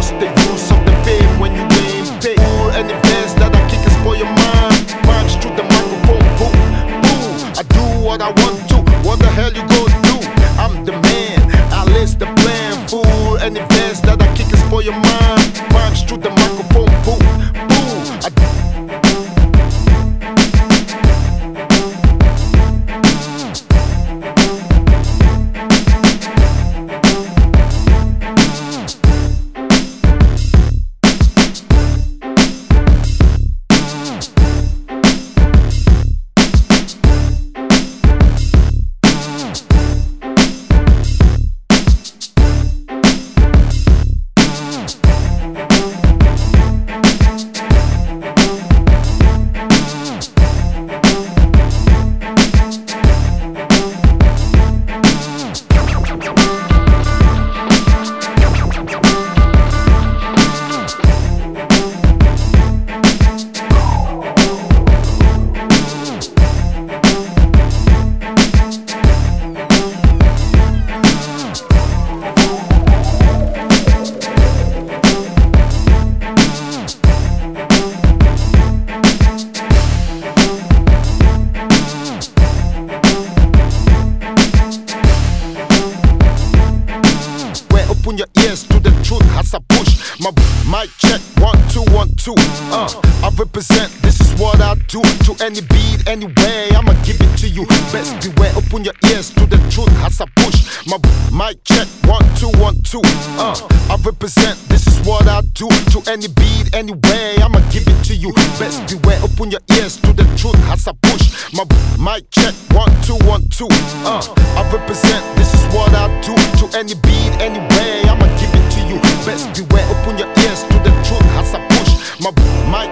what's the use of the fame when you ain't paid? Fool, any verse that I kick is for your mind. Punch through the microphone, boom, boom. I do what I want to, what the hell you gonna do? I'm the man, I list the plan. Fool, any verse that I kick is for your mind. Punch through the microphone, boom, boom. Open your ears to the truth as I push my mic check 1 2 1 2. I represent. This is what I do to any beat, anyway. I'ma give it to you. Best beware. Open your ears to the truth as I push my mic check 1 2 1 2. I represent. This is what I do to any beat, anyway. I'ma give it to you. Best beware. Open your ears to the truth as I push my mic check 1 2 1 2. I represent. This is what I do to any beat, anyway. I'ma give it to you. Best beware, open your ears to the truth as I push my